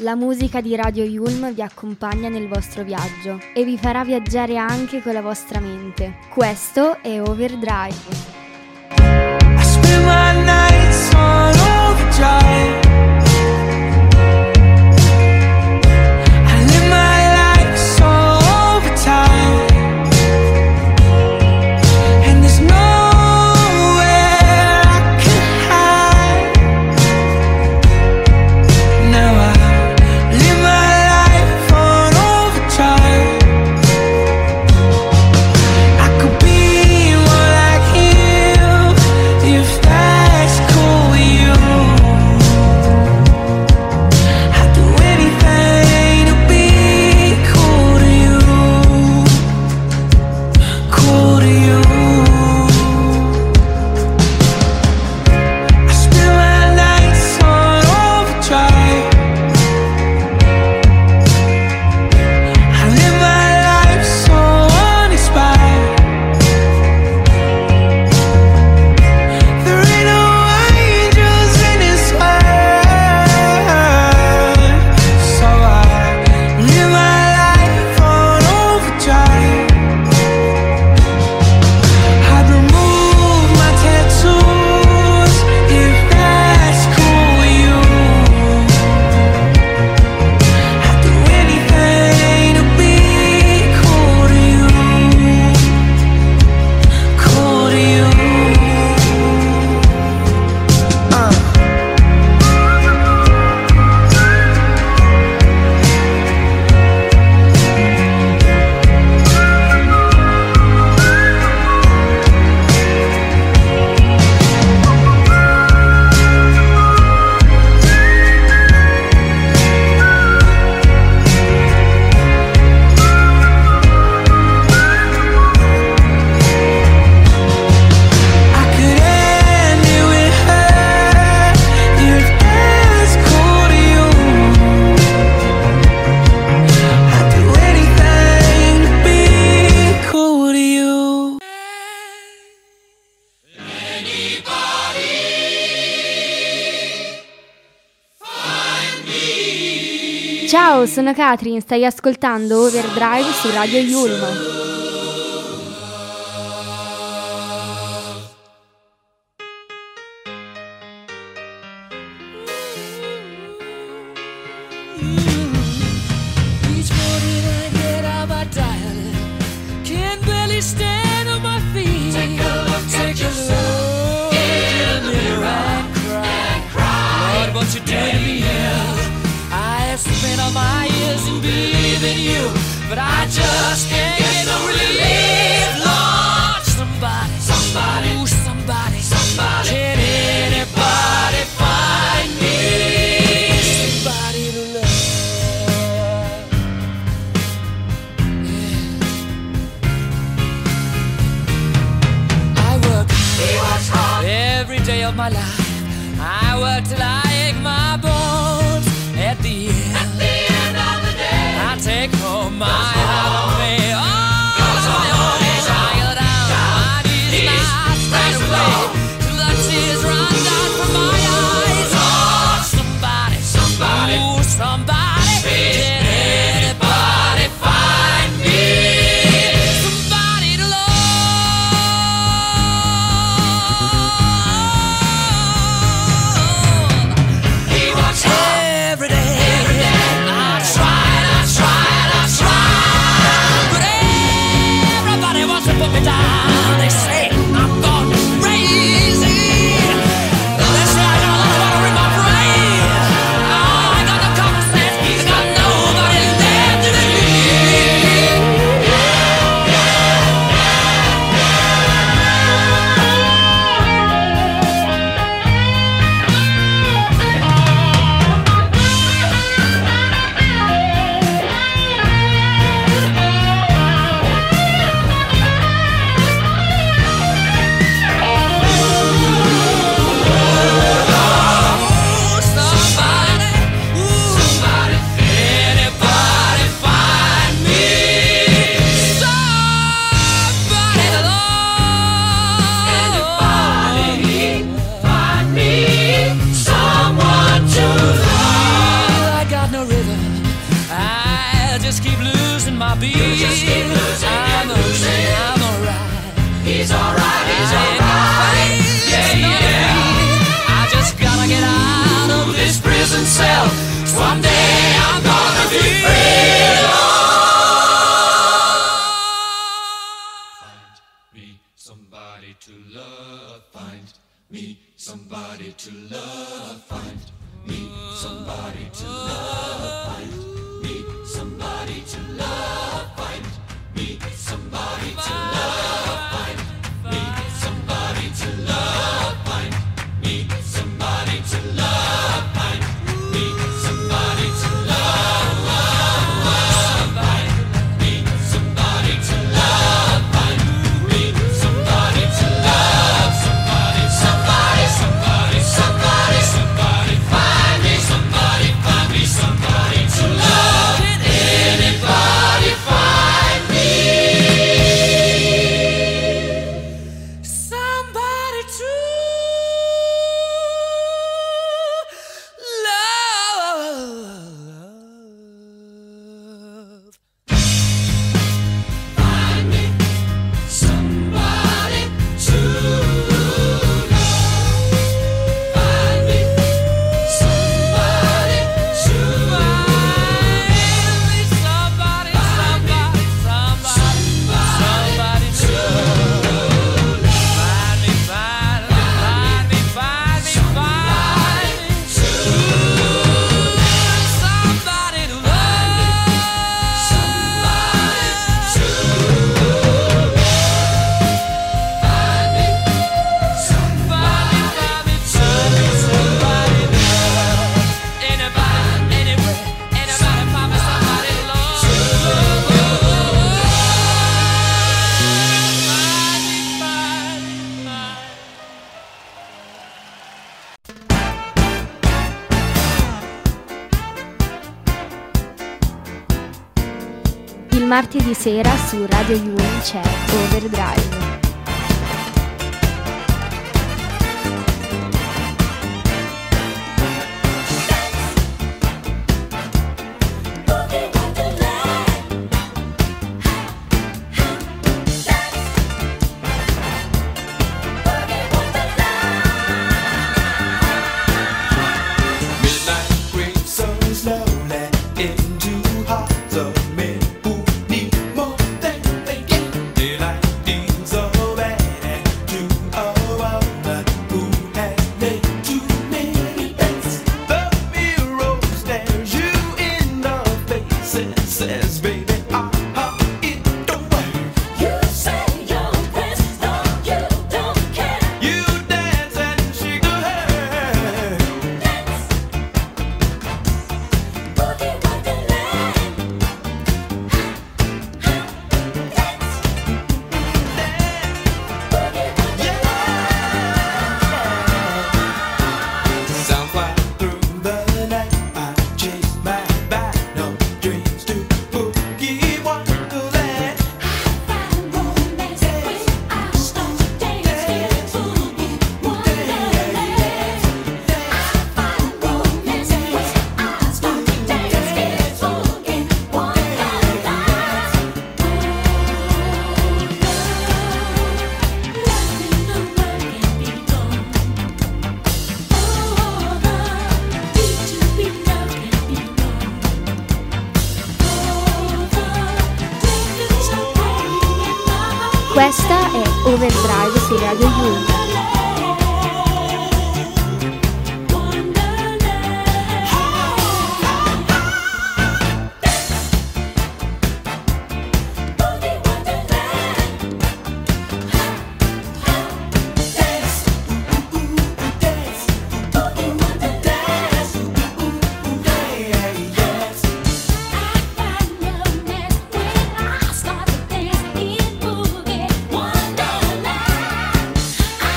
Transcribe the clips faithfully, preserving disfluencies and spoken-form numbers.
La musica di Radio Yulm vi accompagna nel vostro viaggio e vi farà viaggiare anche con la vostra mente. Questo è Overdrive. I spend my nights on overdrive. I live my life so overtime. And there's nowhere I can hide. Now I live my life on overdrive. I could be more like him if that's cool with you. I'd do anything to be cool to you, cool to you. I spend my nights on overdrive. I live my life so uninspired. There ain't no angels in this world, so I live my life on overdrive. I'd remove my tattoos if that's cool with you. I'd do anything to be cool to you, cool to you. Uh. I could end it with her if that's cool to you. I'd do anything to be cool to you. Ciao, sono Katrin, stai ascoltando Overdrive su Radio Yulm. Each morning I get out my diary, can't barely stand on my feet. Take a look at yourself in the mirror and cry. Lord, what you doing to me? I have spent all my years in believing you, but I just can't get no relief. Lord, somebody, somebody, ooh, somebody, somebody. Can anybody find me somebody to love? I work hard every day of my life. I work till I ache my bones. At the end, at the end of the day, I take home my heart of me. Oh, tired out, my knees not straight away, till the tears run down from my eyes. Oh, somebody, somebody, ooh, somebody, can anybody find me somebody to love? He works hard every day. I tried, I tried, I tried, but just keep losing and losing. I'm alright. He's alright, he's alright. Yeah, yeah. I just gotta get out of this prison cell. Someday I'm gonna be free. Find me somebody to love. Find me somebody to love. Find me somebody to love. Find me somebody to love. Find me somebody to love. Find me somebody to love. Find me somebody to love. Find me somebody to love. Find me somebody to love. Find me somebody to love. Somebody, somebody, somebody, somebody, somebody. Find me somebody, find me somebody to love. Anybody find me somebody to love. Find me somebody to love. Find me somebody to love. Find me somebody, somebody, somebody, somebody to love. Find me, find me, find me, find me, find me to love. Somebody to love. Somebody to love. Find me somebody, find me, find me somebody to love. Anybody, anywhere, anybody find me somebody to love. Find me, find me, find me. Il martedì sera su Radio Yulm c'è Overdrive. Midnight creeps so slowly into hearts of men who need more than they get. Daylight deals so bad to a woman who has made too many bets. The mirror stares you in the face and says, baby, ah-ha, it don't work. You say your best, no, you don't care. You dance and shake the hair. Dance, boogie wonderland. Dance, boogie wonderland. Sound fly through the night. I chase my back, no dreams to boogie wonderland. Find romance when I start to dance in boogie wonderland. I find romance when I start to dance in boogie wonderland. Oh, Questa è Overdrive su Radio Yulm. I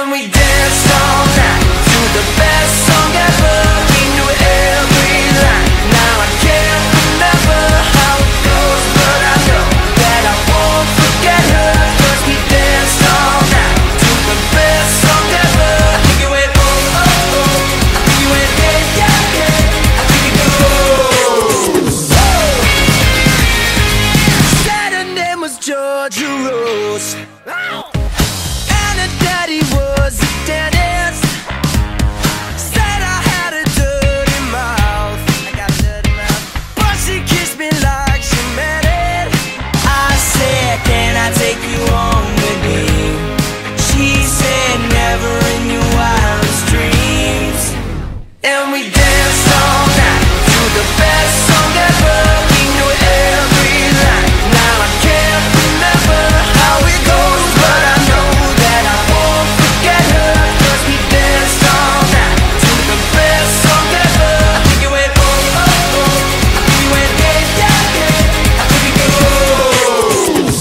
And we danced all night to the best song ever. We knew every line. Now I can't remember how it goes, but I know that I won't forget her. 'Cause we danced all night to the best song ever. I think it went oh oh oh. I think it went yeah yeah yeah. I think it goes. Said her name was Georgia Rose. And her daddy was a dentist. Said I had a dirty mouth. I got a dirty mouth. But she kissed me like she meant it. I said, can I take you home with me? She said, never in your wildest dreams. And we danced all night to the best song ever. We knew every line. Now I can't remember how it goes, but I know that I won't forget her. 'Cause we danced all night to the best song ever. I think it went oh oh oh. I think it went yeah yeah yeah. I think it goes.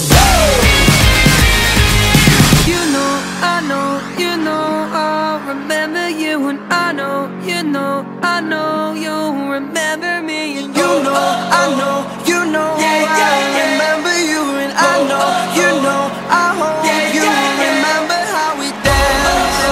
You know, I know, you know, I'll remember you. And I know, you know, I know you'll remember me. And you know, I know, you know, I remember you. And I know, you know, I hope you remember how we danced.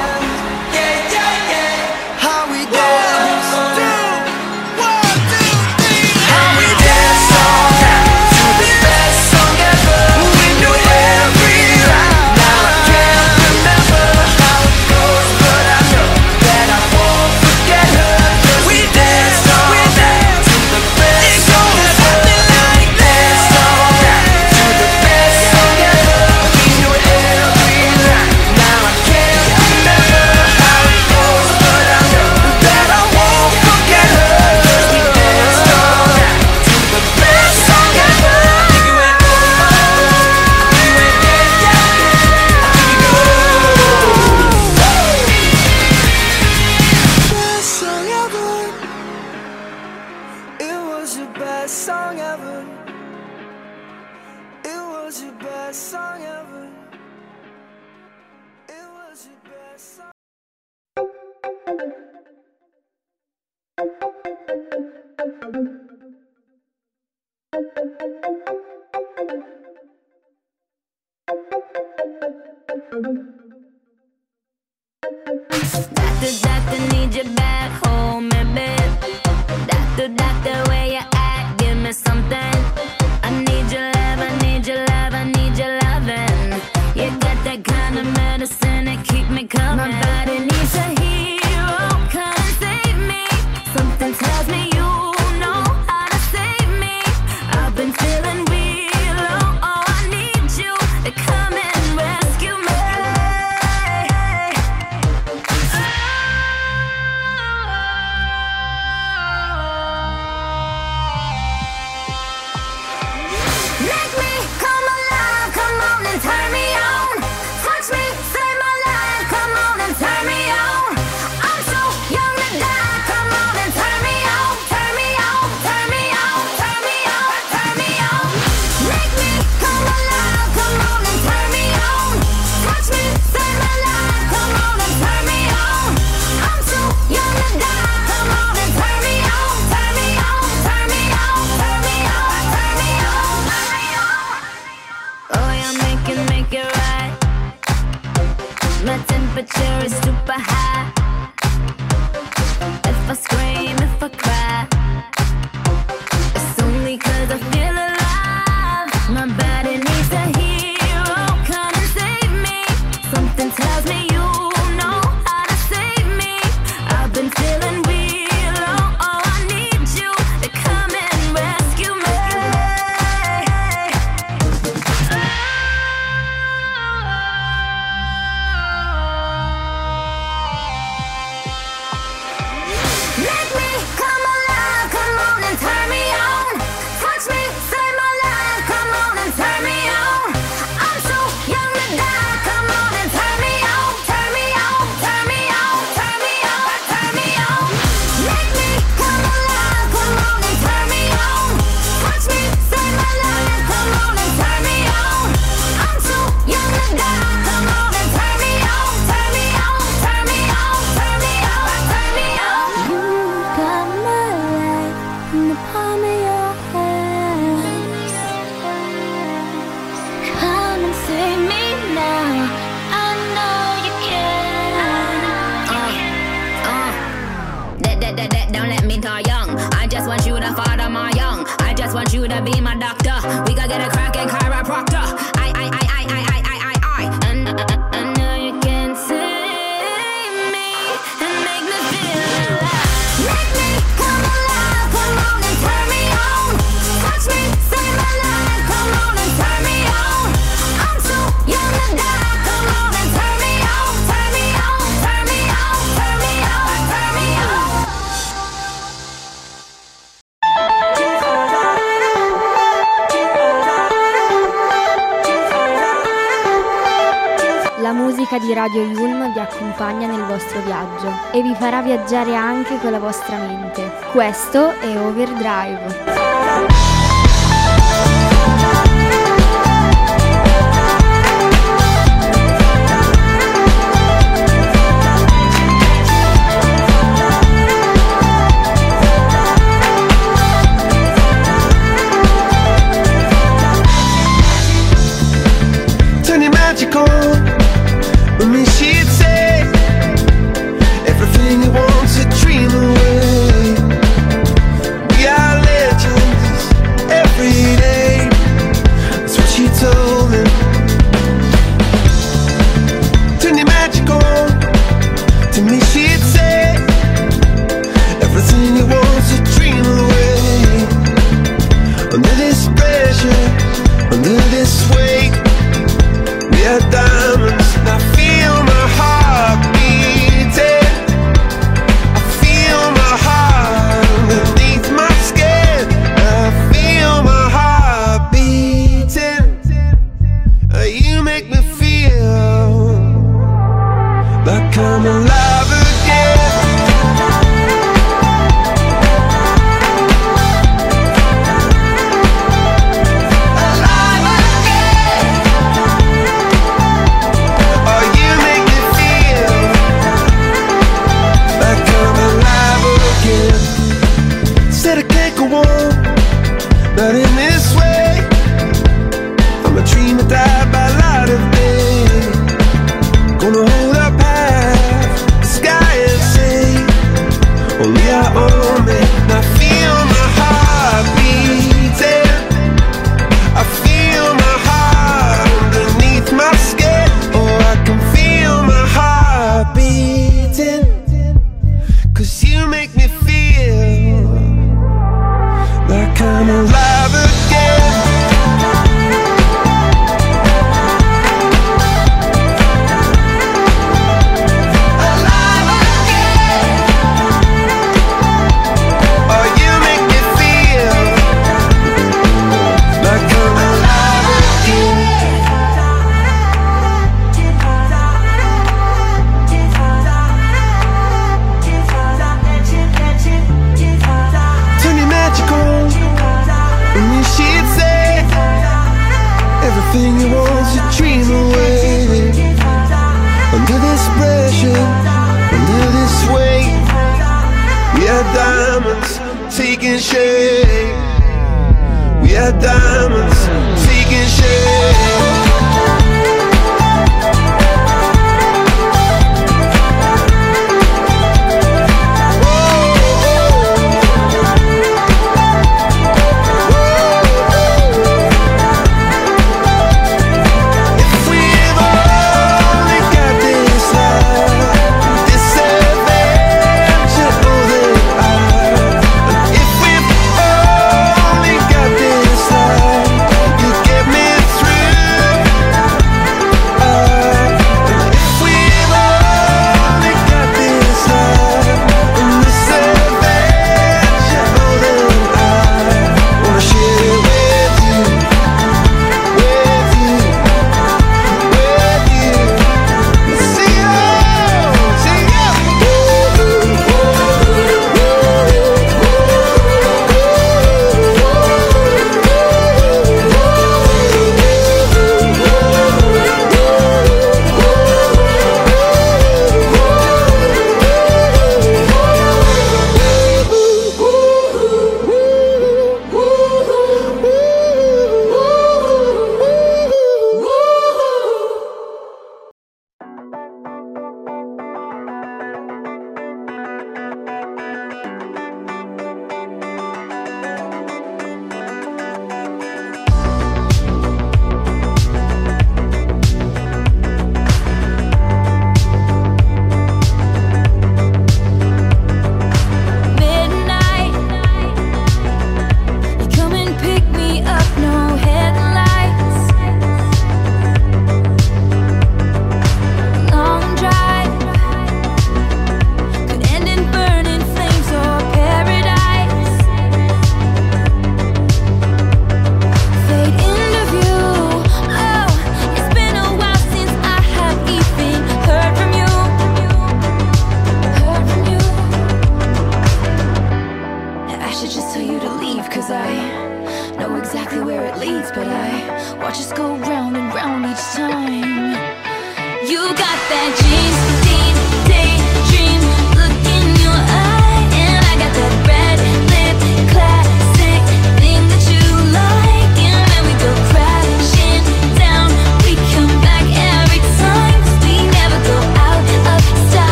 How we danced. One, two, three. How we danced all night to the best song ever. We knew every line. Now I can't remember how it goes, but I know that I won't forget her. 'Cause we danced all night to the best song ever. We danced all night to the best song ever. We knew every line. Now I can't remember how it goes, but I know that I won't forget her. 'Cause we danced all night to the best song ever. I think it went oh oh oh. I think it went yeah yeah yeah. I think it goes. Best song ever. It was your best song ever. It was your best song ever. It was your best song. Doctor, doctor, need you back home in bed. Doctor, doctor, where you at? Give me something. I need your love, I need your love, I need your loving. You got that kind of medicine that keep me coming. My body needs a hero, come and save me. Something tells me you know how to save me. I've been feeling real low, oh, I need you to come and rescue me. Make me come alive, come on and turn me on. Touch me, save my life, come on and turn me on. I'm so young to die, come on and turn me on. Turn me on, turn me on, turn me on, turn me on. Make me come alive, come on and turn me on. Touch me, save my life, come on and turn me on. I'm so young to die, come on and turn me on. Turn me on, turn me on, turn me on, turn me on, turn me on. Oh, you make it, make it right. My temperature is super high. If I scream, if I cry, it's only 'cause I feel alive. My body needs a hero, come and save me. Something tells me you know how to save me. I've been feeling real low, oh, I need you to come and rescue me. Make me come alive. just want you to be my doctor. We gotta get a crackin' chiropractor. I, I, I, I, I, I, I, I, I. And I know you can save me and make me feel alive. Make me come alive, come on and turn me on. Touch me, save my life, come on and turn me on. I'm too young to die, come on and turn me on, turn me on, turn me on, turn me on, turn me on. La musica di Radio Yulm vi accompagna nel vostro viaggio e vi farà viaggiare anche con la vostra mente. Questo è Overdrive. Turn your magic on. With me she'd say everything you want to dream away. We are legends every day. That's what she told me. Turn your magic on. To me she'd say everything you want to dream away. Under this pressure, under this weight, we are diamonds. And I feel my heart beating. I feel my heart beneath my skin. I feel my heart beating. Uh, You make me feel like I'm alive again. Alive again. Oh, you make me feel like I'm alive again. Said I can't go on, not in this way. I'm a dream that died by light of day. Gonna hold up half the sky and say, only I own me. And I feel my heart beating. I feel my heart underneath my skin. Oh, I can feel my heart beating. Cause you make me feel like I'm alive again. Alive again. Oh, you make me feel like I'm alive again. Turn your magic on. And you she'd say everything you want to dream away. Under this pressure, under this weight, we are diamonds taking shape. We are diamonds taking shape. If we've only got this life, this adventure, oh, then I. If we've only got this life, you get me through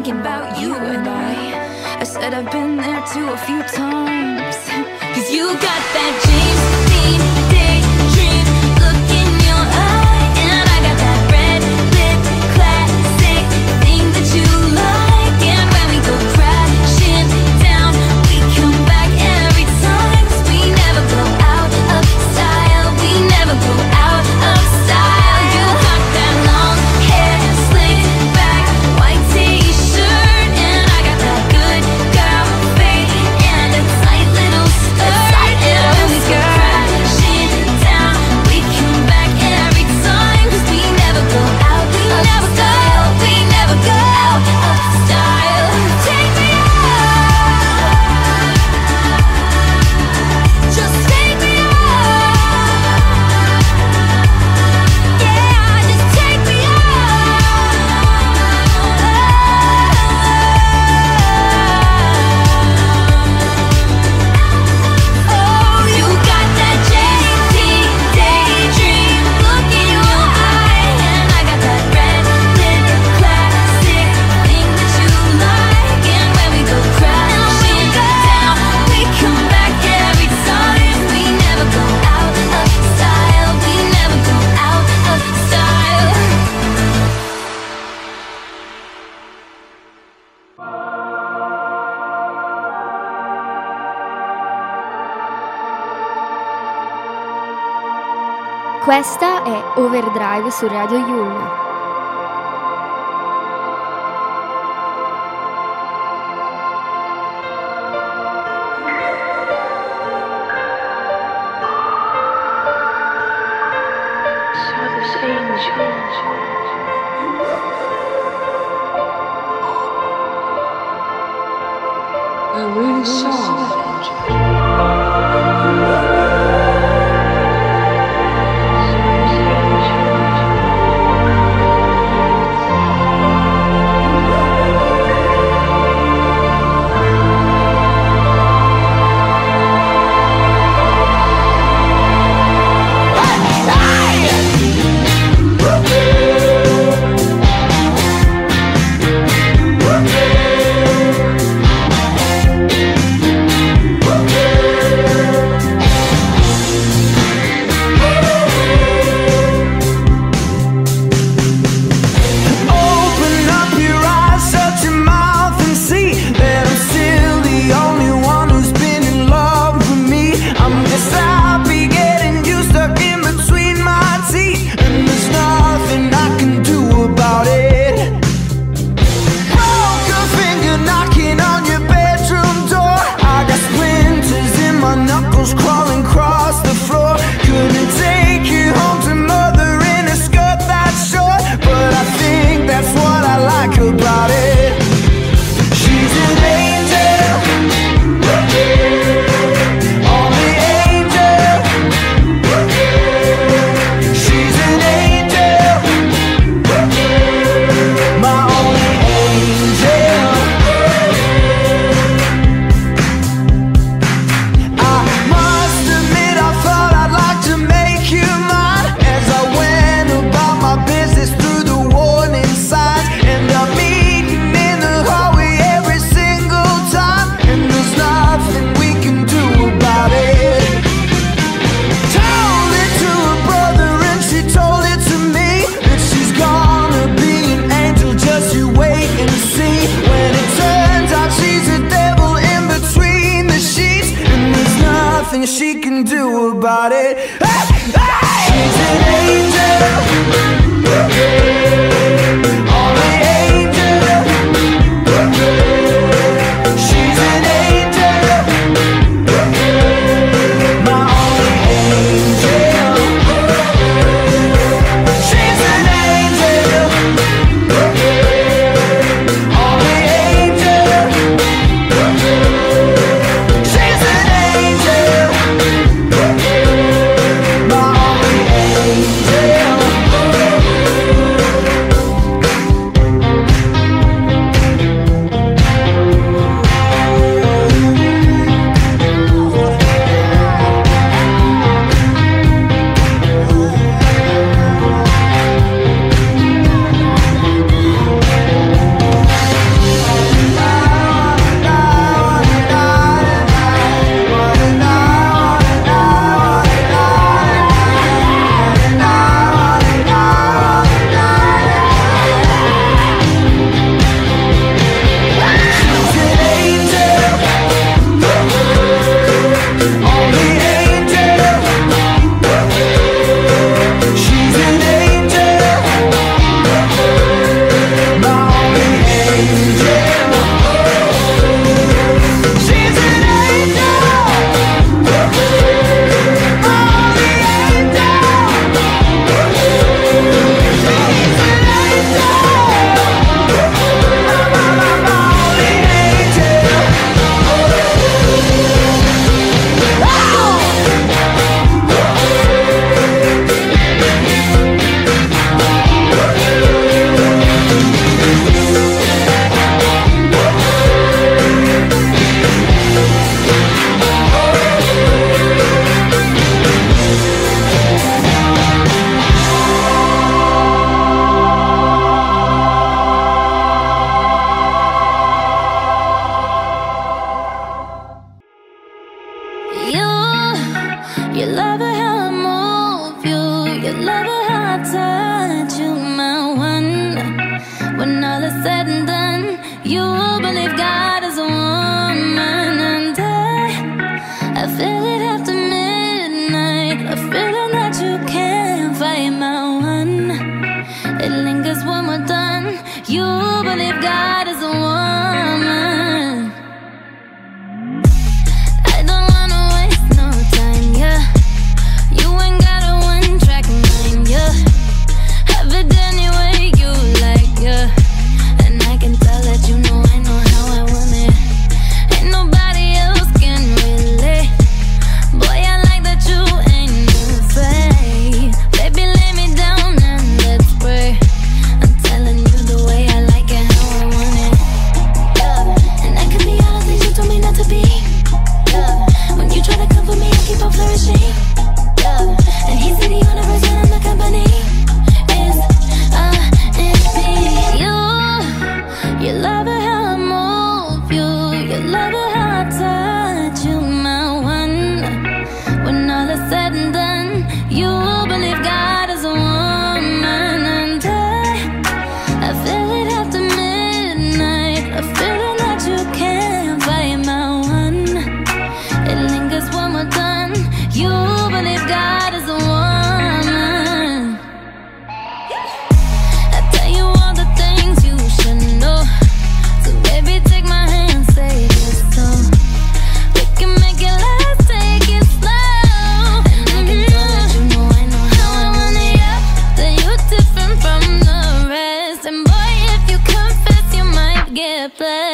thinking about you and I. I said I've been there too a few times. Cause you got that James Dean daydream look in your eye. And I got that red lip classic thing that you like. And when we go crashing down, we come back every time. 'Cause we never go out of style. We never go out of style. You got that long hair slicked back, white t-shirt. And I got that good girl face and a tight little skirt. And when we go crashing down, we come back every time. 'Cause we never go out of style. We never go out of style. Take me out, just take me out. Yeah, just take me out. Oh, you got that J T daydream look in your eye. And I got that red lip classic thing that you like. And when we go crashing down, we come back every time. We never go out of style. We never go out of style. Questa è Overdrive su Radio Yulm.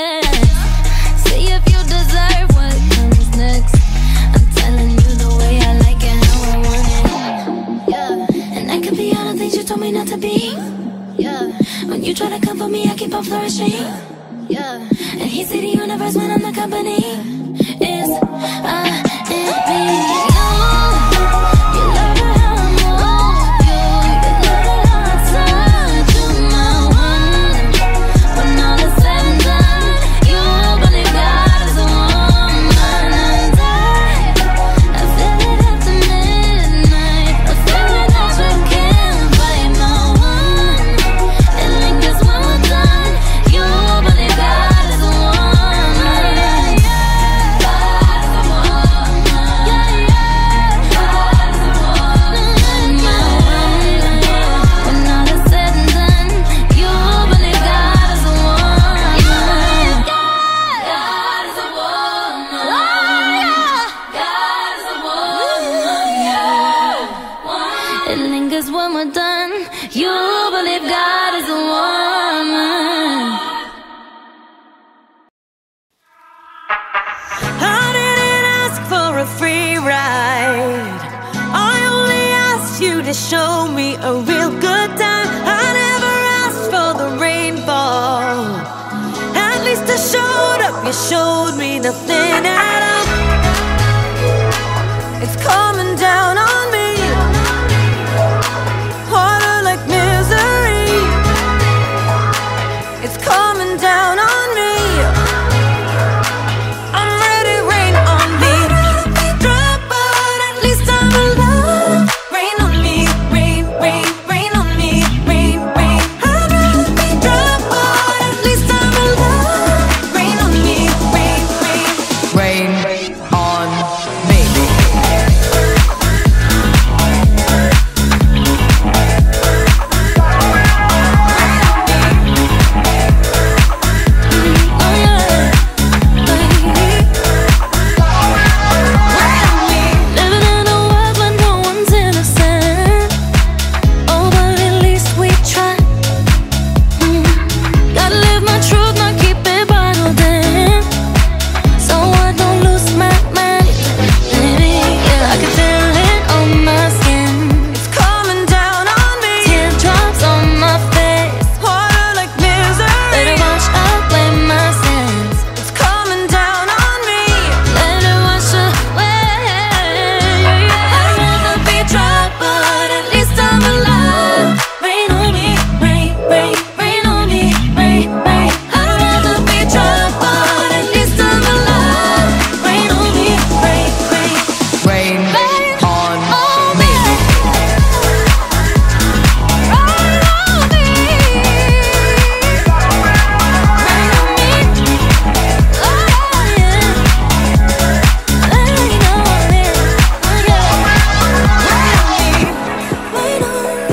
See if you deserve what comes next. I'm telling you the way I like it, how I want it. Yeah, and I could be all the things you told me not to be. Yeah, when you try to come for me, I keep on flourishing. Yeah, and he see the universe when I'm the company. Is I and me. Show me a real good time. I never asked for the rainfall. At least I showed up. You showed me nothing at all. It's coming down on me. Harder like misery. It's coming down on me. I'm ready, rain on me. Drop, but at least I'm alive. Rain on me. Rain, rain, rain on me. Rain, rain. I'd rather be drunk, but at least I'm alive. Rain on me. Rain, rain. Rain on me. Oh yeah, living in a world where no one's innocent. Oh, but at least we try. Mm. Gotta live my truth, not keep it bottled in, so I don't lose my mind. Baby, yeah, I can feel it on my skin. It's coming down on me. Teardrops on my face. Harder like Let misery. it wash away my sins. It's coming down on me. Let it wash away. I'd rather be drunk, but at least I'm alive. Rain on me, rain, rain, rain on me, rain, rain. I'd rather be drunk, but at least I'm alive. Rain on me, rain, rain, Rain rain on on me. me. Rain on me. Rain on me. Oh yeah. Rain on me. Oh yeah. Rain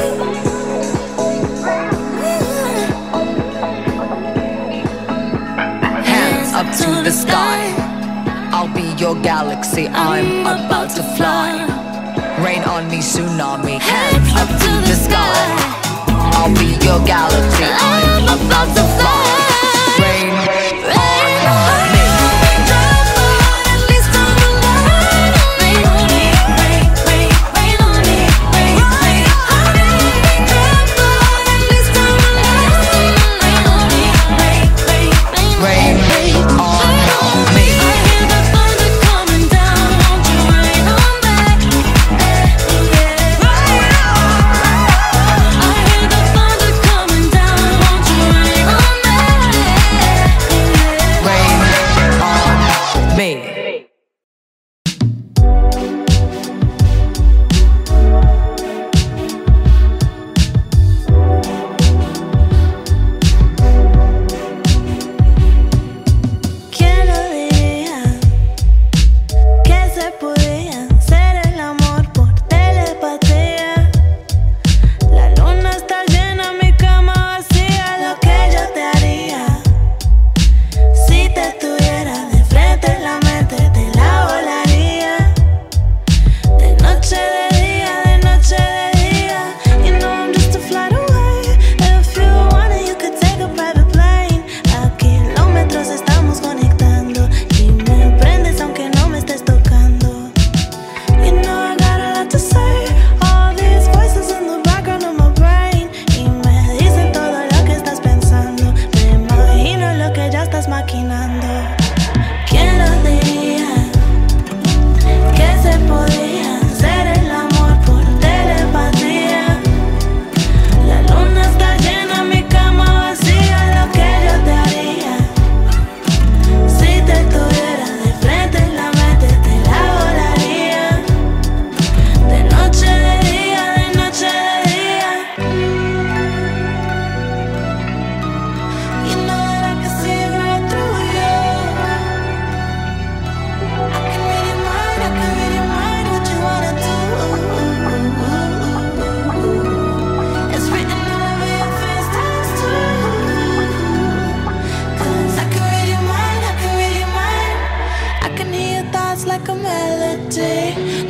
on me. Hands up to the sky. I'll be your galaxy. I'm about to fly. Rain on me, tsunami. Hands up to the sky. I'll be your galaxy. I'm about to fly. Rain on me. At least I'm alive. Rain on me, rain, rain, rain on me, rain, rain. I may be drunk, but at least I'm alive. Rain on me, rain, rain, rain, Rain on me. I hear the thunder coming down. Won't you rain on me? Eh, yeah. I hear the thunder coming down. Won't you rain on me?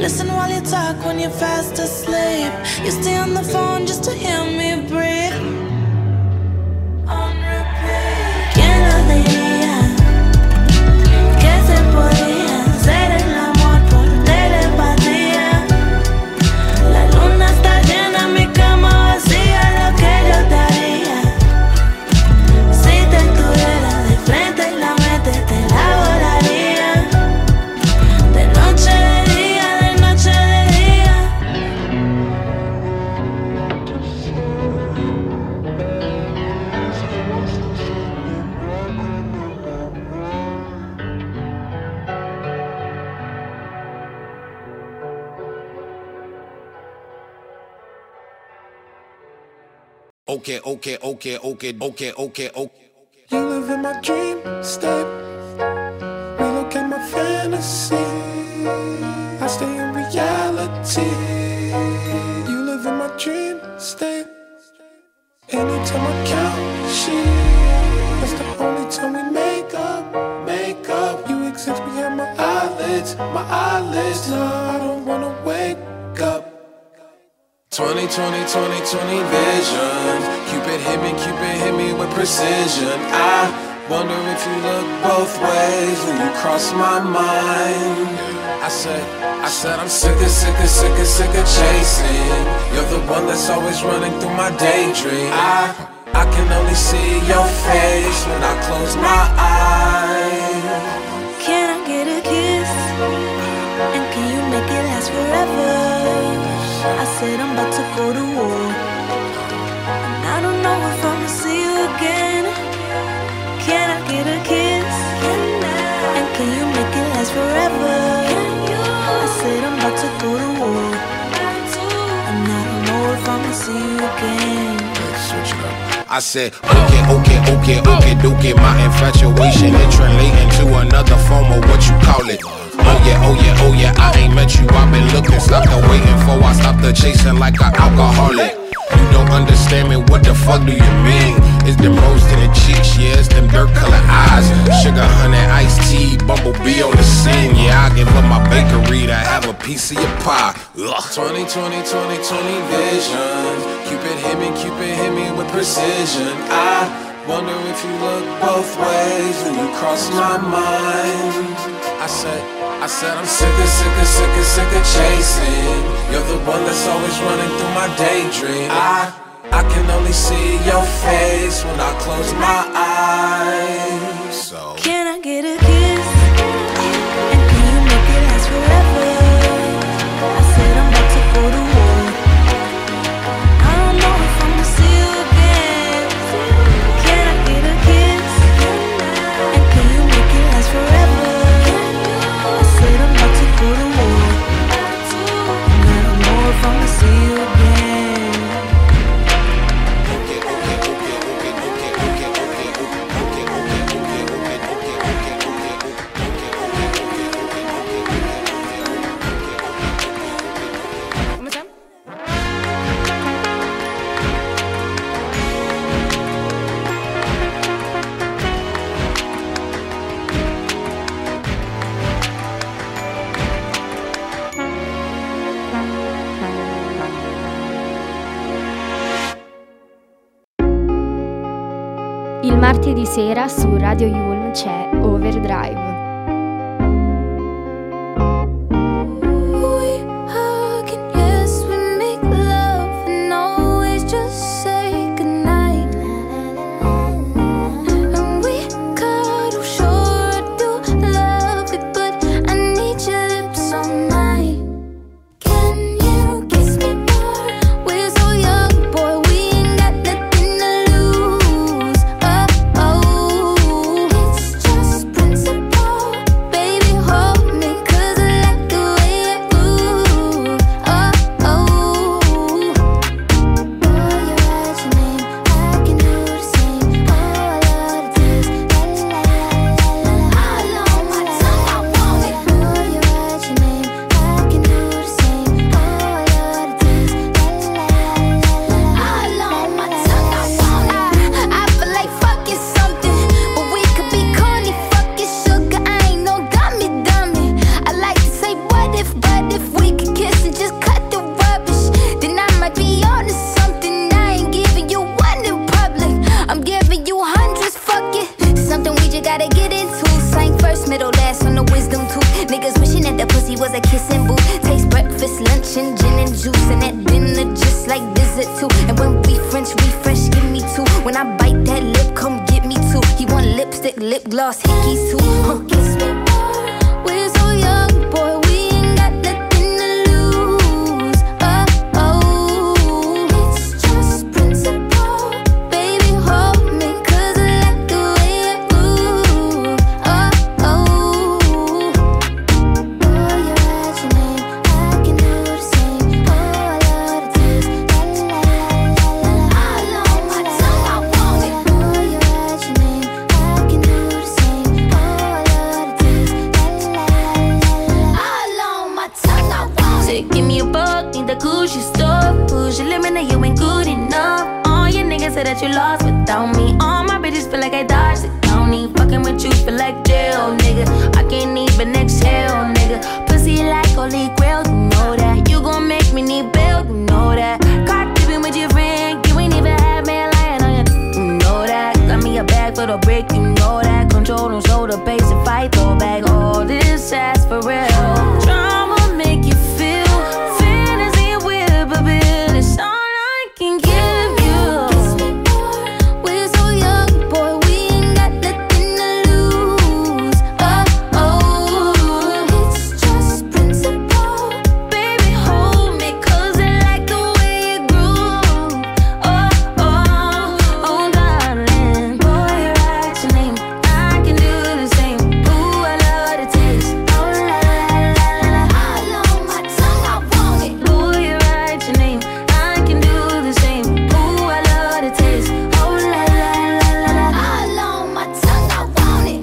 listen while you talk when you're fast asleep. You stay on the phone just to hear me breathe. On repeat. ¿Quién lo diría? Que se podía hacer el amor por telepatía. La luna está llena, mi cama vacía, lo que yo te haría. Si te tuviera de frente y la mente te la volaría. De noche de día, de noche de día. Okay, okay, okay, okay, okay, okay, okay. You live in my dream state. Relocate my fantasy. I stay in reality. You live in my dream state. Anytime I count sheep, that's the only time we make up, make up. You exist behind my eyelids, my eyelids. No, I don't wanna wake up. twenty, twenty, twenty, twenty vision. Cupid hit me, Cupid hit me with precision. I wonder if you look both ways when you cross my mind. I said, I said I'm sick of, sick of, sick of, sick of chasing. You're the one that's always running through my daydream. I, I can only see your face when I close my eyes. Can I get a kiss? And can you make it last forever? I said I'm about to go to war, and I don't know if I'ma see you again. Can I get a kiss? And can you make it last forever? I said I'm about to go to war, and I don't know if I'ma see you again. Switch it up. I said, okay, okay, okay, okay, dookie. My infatuation, it translating to another form of what you call it. Oh yeah, oh yeah, oh yeah, I ain't met you, I've been looking, stopped and waiting for, I stopped the chasing like an alcoholic. You don't understand me, what the fuck do you mean? It's them rose to the cheeks, yeah, it's them dirt colored eyes. Sugar, honey, iced tea, bumblebee on the scene. Yeah, I give up my bakery to have a piece of your pie. Ugh. twenty, twenty, twenty, twenty vision. Cupid hit me, Cupid hit me with precision. I wonder if you look both ways when you cross my mind. I said, I said I'm sick of, sick of, sick of, sick of chasing. You're the one that's always running through my daydream. I, I can only see your face when I close my eyes. So Can I get a kiss? And can you make it last forever? I said I'm about to go to war. I don't know if I'ma see you again. Can I get a kiss? And can you make it last forever? I said I'm about to go to war, and I don't know if I'ma see you again. okay, okay, okay, okay, okay, okay, okay, okay, okay, okay, okay, Come siamo? Il martedì sera su Radio Yulm c'è Overdrive. We hug and yes, we make love and always just say goodnight. And we cuddle, sure I do love it, but I need your lips on mine. Can you kiss me more? We're so young, boy, we ain't got nothing to lose. Oh, oh, it's just principle. Sang first, middle, last on the wisdom tooth. Niggas wishing that the pussy was a kissing booth. Taste breakfast, lunch, and gin and juice. And at dinner, just like visit too. And when we French refresh, give me two. When I bite that lip, come get me two. He want lipstick, lip gloss, hickeys too. Huh. Kiss me more. We're so young, boy, we ain't got nothing to lose. Oh, oh, it's just principle. Baby, hold me, cause I like the way it move. Oh, oh. Boy, you write your name, I can do the same. Oh, I love the taste. La la la la la. All on my tongue, I want it. Boy, you write your name, I can do the same. Oh, I love the taste. La la la la la. All on my tongue, I want it. Say, give me a buck, need the Gucci stuff. Push your limit, now you ain't good enough. All your niggas say that you lost without me. All my bitches feel like I dodged the county. Fucking with you feel like jail, nigga. I can't even exhale, nigga. Pussy like holy grail, you know that. You gon' make me need bail, you know that. Caught dipping with your friend, you ain't even had me lying on you, you know that. Got me a bag for the brick, you know that. Control don't show the pace and fight, throw back all this ass for real. Drama make you feel, fantasy with but bill. It's all I can give you. Kiss me more. We're so young, boy, we ain't got nothing to lose. Oh, oh, it's just principle. Baby, hold me, cause I like the way it groove. Oh, oh, oh, darling. Boy, you write your name, I can do the same. Ooh, I love the taste. Oh, la la la la la. All on my tongue, I want it. Boy, you write your name, I can do the same. Ooh, I love the taste. Oh, la la la la la. All on my tongue, I want it.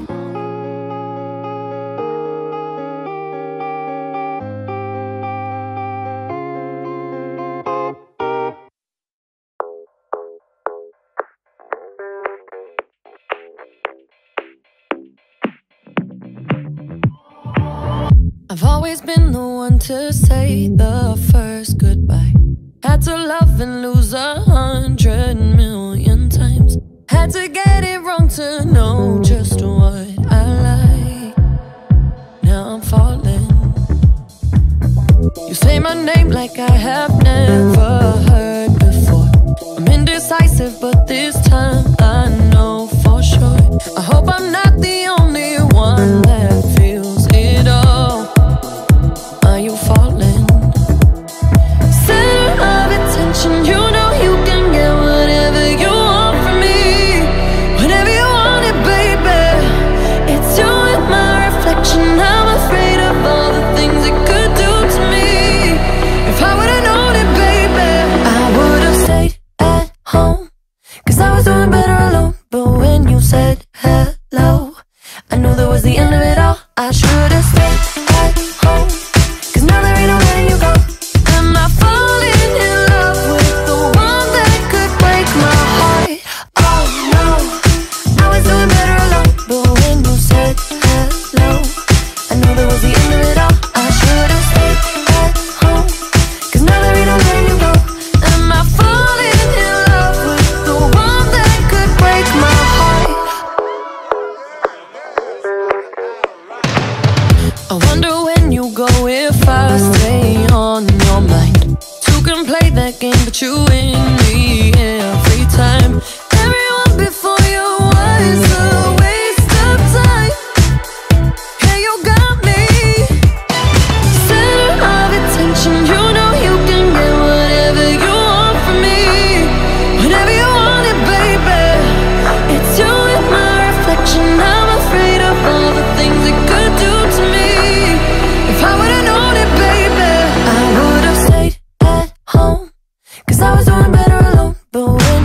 I've always been the one to say the first goodbye. Had to love and lose a hundred million times. Had to get it wrong to know just what I like. Now I'm falling. You say my name like I have never heard before. I'm indecisive, but this time I know for sure. I hope I'm not the only one that feels it all. Are you falling? Center of attention, you know you can get whatever you want from me. Whenever you want it, baby. It's you and my reflection. I'm afraid of all the things it could do to me. If I would've known it, baby, I would've stayed at home. Cause I was doing better alone. But when you said hello, I knew that was the end of it all. I should've stayed at home. Cause now there ain't no letting you go. Am I falling in love with the one that could break my heart? Oh no, I was doing better alone. But when you said hello, I knew that was the end of it all. I should've stayed at home. Cause now there ain't no letting you go. Am I falling in love with the one that could break my heart? I wonder when you go if I stay on your mind. Two can play that game, but you win me every time. Everyone before you was a waste of time. Hey, you got me. Center of attention, you know you can get whatever you want from me. Whenever you want it, baby. It's you and my reflection. I'm afraid of all the things it could do to me. If I would've known it, baby, I would've stayed at home. Cause I was doing better alone. But when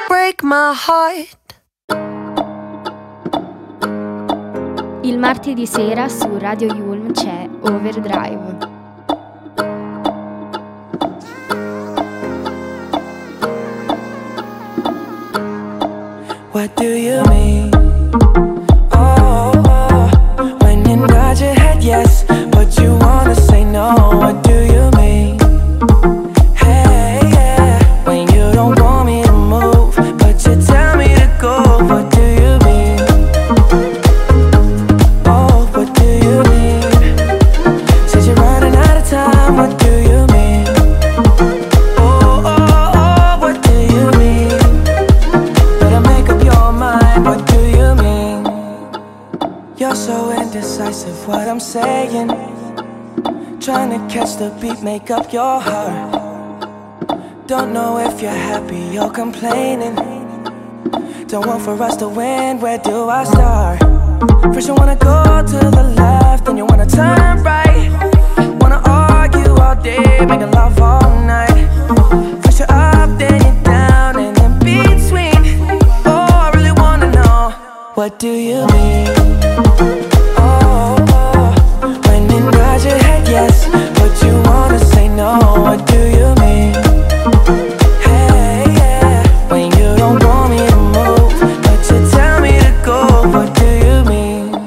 break my heart. Il martedì sera su Radio Yulm c'è Overdrive. What do you mean? Oh, oh, when you nod your head yes, but you wanna say no. What do you mean? Hey, yeah, when you don't want me to move, but you tell me to go. What do you mean? Oh, what do you mean? Said you're running out of time. What do you mean? Oh, oh, oh, what do you mean? Better make up your mind. What do you mean? You're so indecisive. What I'm saying, trying to catch the beat, make up your heart. Don't know if you're happy or complaining. Don't want for us to win, where do I start? First you wanna go to the left, then you wanna turn right. Wanna argue all day, making love all night. First you're up, then you're down, and in between. Oh, I really wanna know, what do you mean? Oh, oh, when you nod your head yes, but you wanna say no. What do you mean? Hey, yeah, when you don't want me to move, but you tell me to go. What do you mean?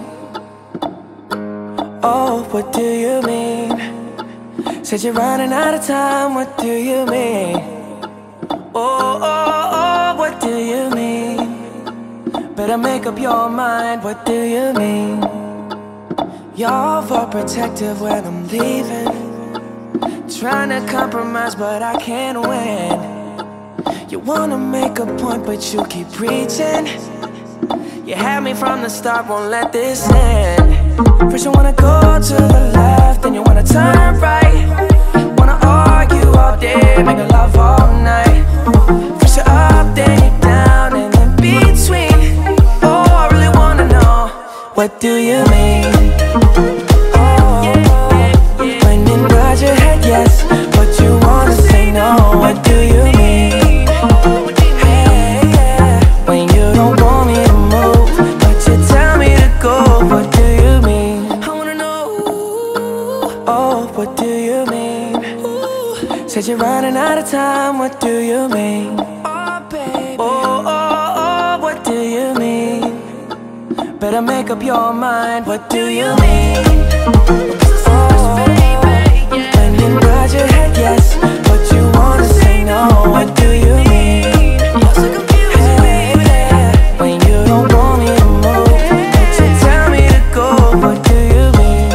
Oh, what do you mean? Said you're running out of time. What do you mean? Oh, oh, oh, what do you mean? Better make up your mind. What do you mean? You're overprotective when I'm leaving. Trying to compromise, but I can't win. You wanna make a point, but you keep preaching. You had me from the start, won't let this end. First you wanna go to the left, then you wanna turn right. Wanna argue all day, make love all night. First you're up, then you're down, and in between. Oh, I really wanna know, what do you mean? Oh, when you nod your head yes, but you wanna say no. What do you mean? Hey, yeah, when you don't want me to move, but you tell me to go. What do you mean? I wanna know. Oh, what do you mean? Said you're running out of time. What do you mean? Oh, baby. Oh, oh, oh, what do you mean? Better make up your mind. What do you mean? Oh, when you nod your head yes, but you wanna say no. What do you mean? Hey, yeah, when you don't want me to move, but you tell me to go. What do you mean?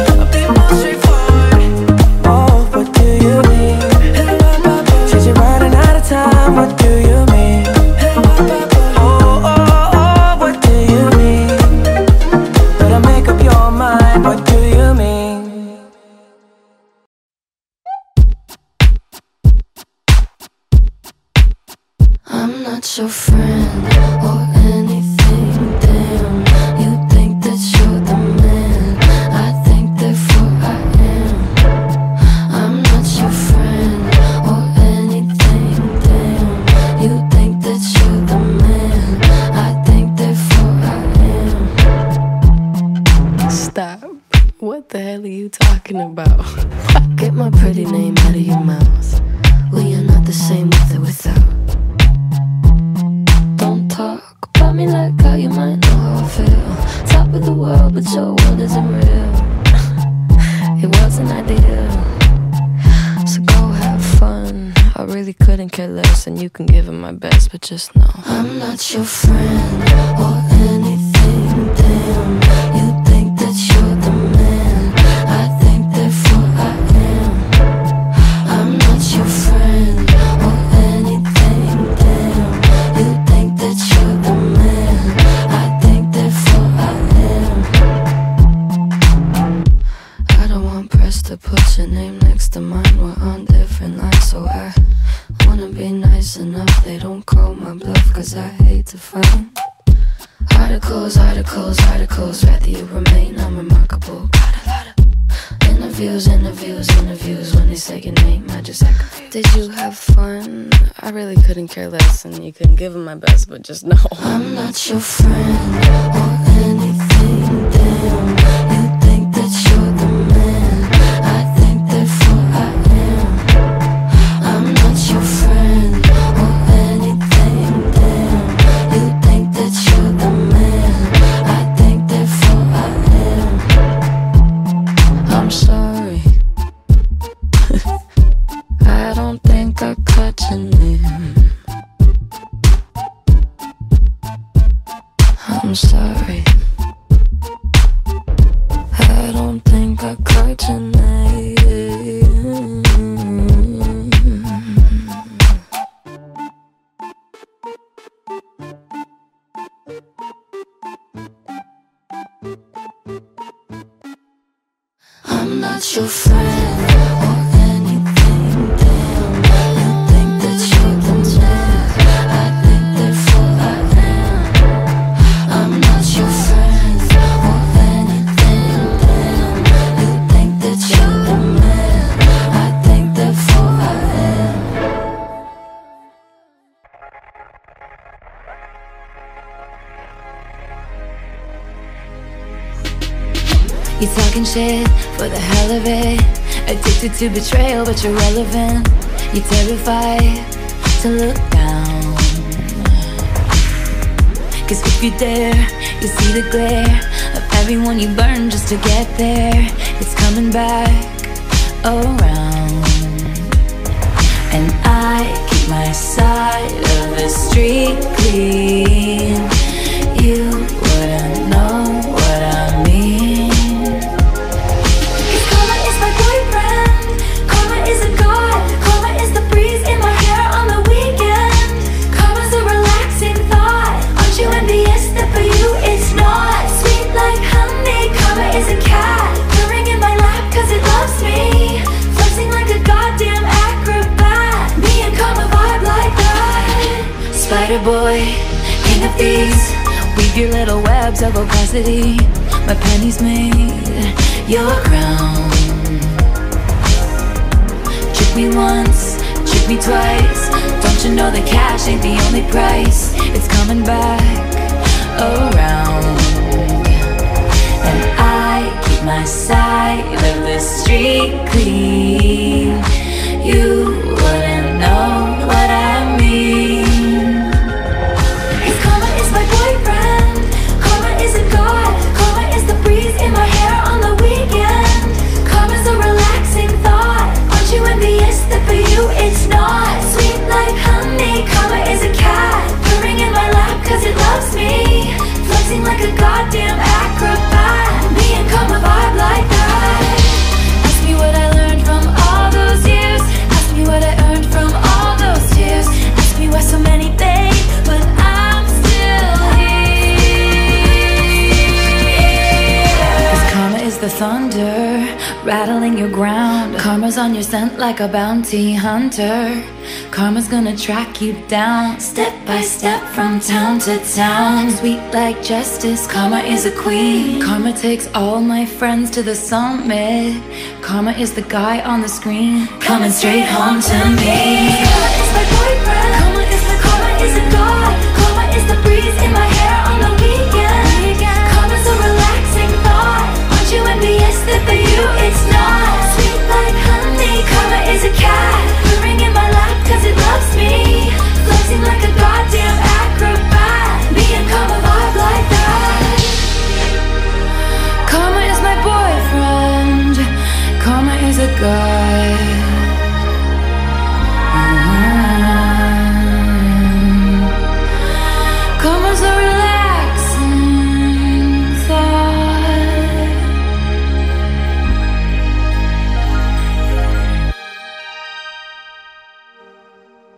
Oh, what do you mean? Said you're running out of time. What do you mean? Oh, oh, oh, what do you mean? Better make up your mind. What do you mean? I'm not your friend or anything, damn. You think that you're the man, I think therefore I am. I'm not your friend or anything, damn. You think that you're the man, I think therefore I am. Stop. What the hell are you talking about? Get my pretty name out of your mouth. Well, you're not the same with it without. Don't talk about me like how you might know how I feel. Top of the world, but your world isn't real. It wasn't ideal. So go have fun. I really couldn't care less, and you can give it my best, but just know I'm not your friend or anything, damn. You think that you're the man, I think therefore I am. I'm not your friend or anything, damn. You think that you're the man, I think therefore I am. I don't want press to put your name next to mine. We're on different lines, so I wanna be nice enough. They don't call my bluff, cause I hate to fight. Articles, articles, articles, rather you remain unremarkable. Got a lot of Interviews, interviews, interviews. When they say your name, I just act confused. Did you have fun? I really couldn't care less, and you couldn't give him my best, but just know I'm not your friend or anything. Damn, you think that you're the man. I think therefore I am. I'm not your friend or anything. Damn, you think that you're the man. I think therefore I am. I'm sorry. I don't think I caught your name. I'm sorry. I don't think I caught your name. I'm not your friend or anything. Damn, you think that you're the man. I think therefore I am. I'm not your friend or anything. Damn, you think that you're the man. I think therefore I am. You talking shit for the hell of it. Addicted to betrayal, but you're relevant. You're terrified to look down. Cause if you dare, you see the glare of everyone you burn just to get there. It's coming back around. And I keep my side of the street clean. You wouldn't know what I mean. Karma is my boyfriend. Karma is a god. Karma is the breeze in my hair on the weekend. Karma's a relaxing thought. Aren't you envious that for you it's not? Sweet like honey. Karma is a cat purring in my lap cause it loves me. Flexing like a goddamn acrobat. Me and Karma vibe like that. Spider boy, king of thieves. Weave your little webs of opacity. My pennies made your crown. Trick me once, trick me twice. Don't you know that cash ain't the only price? It's coming back around. And I keep my side of the street clean. You wouldn't know what I mean. Cause karma is my boyfriend. Karma is a god. Karma is the breeze in my hair on the weekend. Karma's a relaxing thought. Aren't you envious that for you it's not? Sweet like honey. Karma is a cat purring in my lap cause it loves me. Flexing like a goddamn acrobat. Me and Karma vibe like that. Ask me what I learned from all those years. Ask me what I earned from all those tears. Ask me why so many fade, but I'm still here. Cause karma is the thunder rattling your ground. Karma's on your scent like a bounty hunter. Karma's gonna track you down, step by step from town to town. Sweet like justice, Karma is a queen. Karma takes all my friends to the summit. Karma is the guy on the screen, coming straight home to me. Karma is my boyfriend.